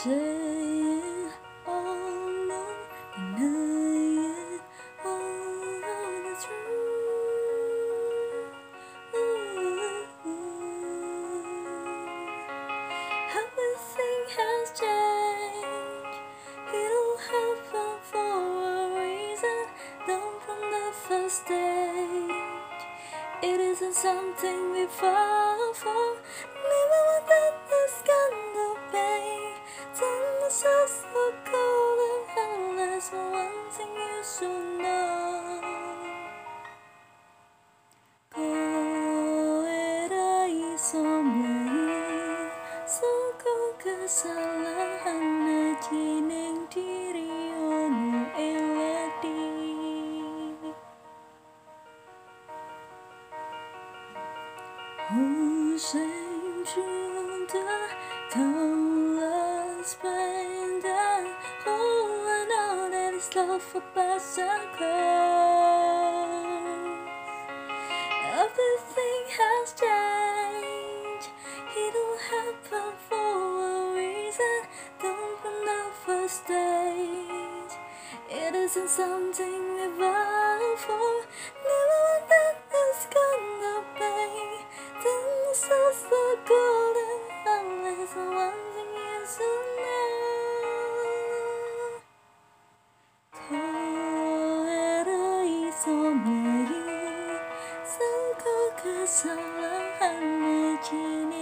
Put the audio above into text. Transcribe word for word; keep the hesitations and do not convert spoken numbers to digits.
say it all alone, deny it all, the truth. Everything has changed. It all happened for a reason. Down from the first stage, it isn't something we fall for. Living without this kind of pain, turn myself so cold and endless. One thing you should know, kau era isomai, so kau kesalahan na jining diri ono eladi. Oh, shame junta countless pain that oh, I know that it's love for past and close. Everything has changed. It all happened for a reason. Down from the first stage, it isn't something we vow for. Never want that this kind of pain. Then the souls so golden, unless one thing you should know, kau era isomai, so kau kesalahan na jining